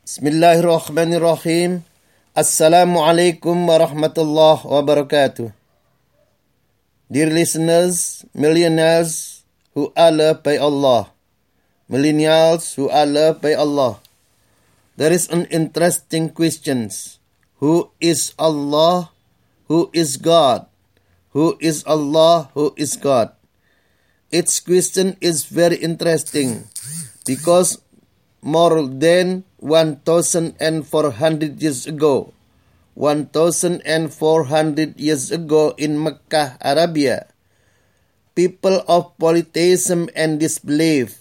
Bismillahirrahmanirrahim. Assalamualaikum warahmatullahi wabarakatuh. Dear listeners, millionaires who are loved by Allah, millennials who are loved by Allah, there is an interesting question. Who is Allah? Who is God? Who is Allah? Who is God? Its question is very interesting because more than 1,400 years ago, 1,400 years ago in Mecca, Arabia, people of polytheism and disbelief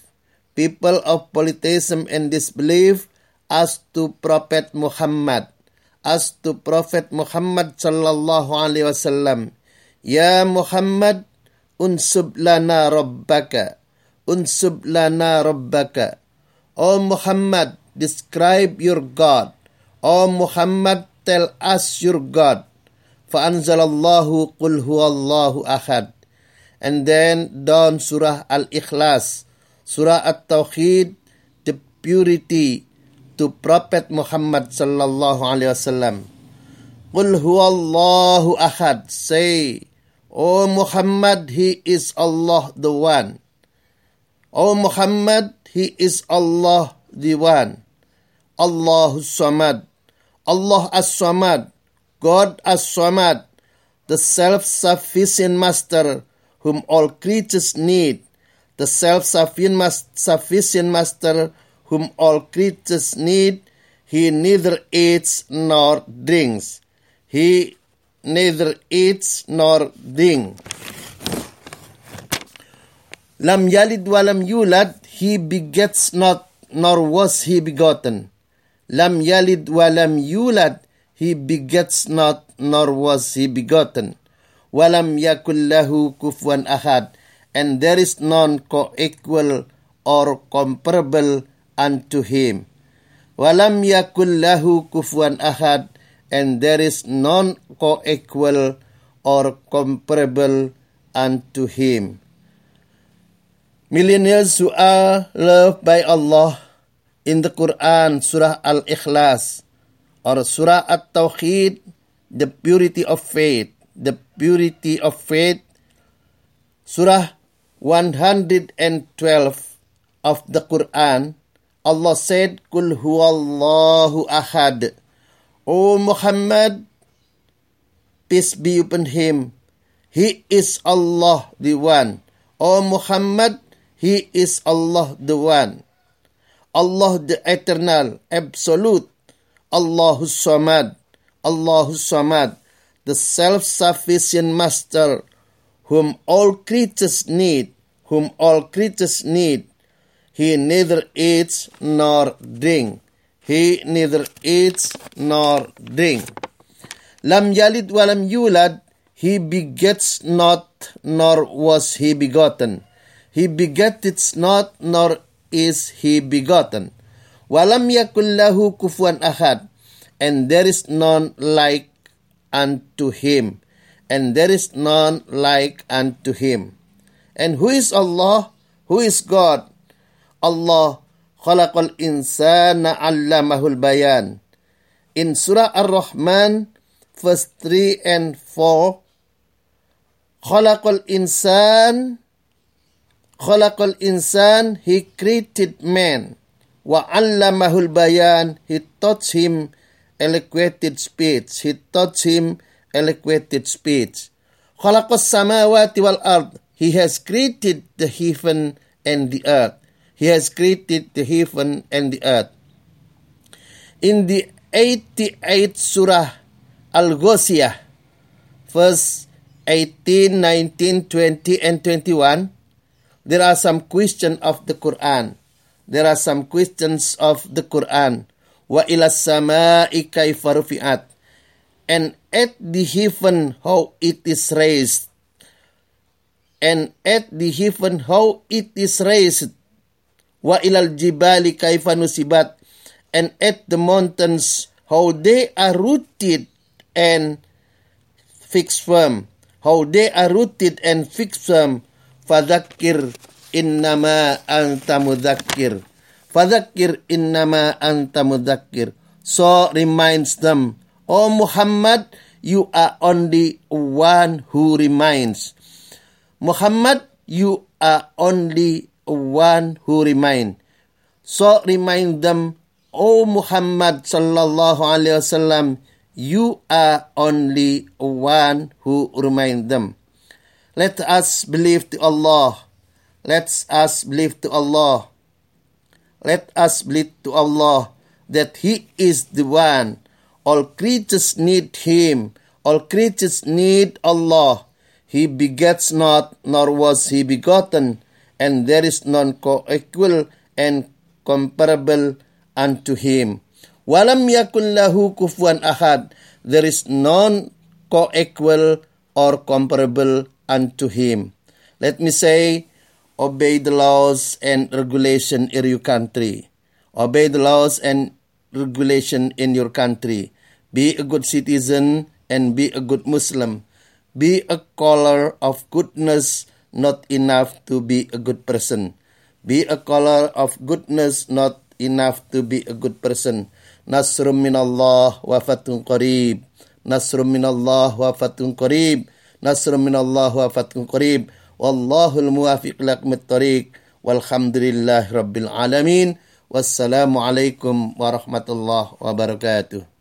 asked to Prophet Muhammad sallallahu alaihi wasallam, Ya Muhammad, unsub lana rabbaka. O Muhammad, describe your God. O Muhammad, tell us your God. Fa'anzalallahu qul huwallahu ahad. And then down Surah Al-Ikhlas, Surah At-Tawhid, the purity to Prophet Muhammad sallallahu alaihi wasallam. Qul huwallahu ahad. Say, O Muhammad, He is Allah the One. O Muhammad, He is Allah the One. Allahus Samad. Allah as-Samad. God as-Samad. The self-sufficient master whom all creatures need. The self-sufficient master whom all creatures need. He neither eats nor drinks. Lam yalid walam yulad, He begets not, nor was He begotten. Lam yalid walam yulad, He begets not, nor was He begotten. Walam yakul lahu kufuwan ahad, and there is none co-equal or comparable unto Him. Walam yakul lahu kufuwan ahad, and there is none co-equal or comparable unto Him. Millennials who are loved by Allah, in the Quran, Surah Al-Ikhlas, or Surah At-Tawhid, the purity of faith, Surah 112 of the Quran, Allah said, Qul huwallahu ahad. O Muhammad, peace be upon him, He is Allah the One. O Muhammad, He is Allah the One. Allah the Eternal, Absolute. Allahus Samad, the self-sufficient Master, whom all creatures need. He neither eats nor drink. Lam yalid walam yulad, He begets not, nor was He begotten. He begetteth not, nor is He begotten. Walam yakul lahu kufuwan ahad, and there is none like unto Him. And who is Allah? Who is God? Allah khalaqal insana 'allamahul bayan. In Surah Ar-Rahman, verse 3 and 4, Khalaqal insan, He created man. Wa 'allamahul bayan, He taught him eloquent speech. Khalaqas samawati wal ard, He has created the heaven and the earth. In the 88th Surah Al-Ghosiyah, verse 18, 19, 20, and 21, there are some questions of the Quran. Wa ila samai kaifa rufi'at. And at the heaven how it is raised. Wa ilal jibali kaifa nusibat. And at the mountains how they are rooted and fixed firm. Fadhakkir innama anta mudhakkir. Fadzakkir innama anta mudzakkir. So reminds them, O Muhammad, you are only one who reminds. Muhammad, you are only one who remind. So remind them, O Muhammad sallallahu alaihi wasallam, you are only one who remind them. Let us believe to Allah. Let us believe to Allah. Let us believe to Allah that He is the one. All creatures need Him. All creatures need Allah. He begets not, nor was He begotten, and there is none co-equal and comparable unto Him. Walam yakun lahu kufuwan ahad. There is none co-equal or comparable unto Him. Let me say, obey the laws and regulation in your country. Obey the laws and regulation in your country. Be a good citizen and be a good Muslim. Be a caller of goodness, not enough to be a good person. Be a caller of goodness, not enough to be a good person. Nasrum minallah wa fatun qarib. Nasrum minallah wa fatun qarib. Nasrum minallah wa fatun qarib. Wallahul muwafiq laqmit tariq. Walhamdulillahi rabbil alamin. Wassalamu alaikum warahmatullahi wabarakatuh.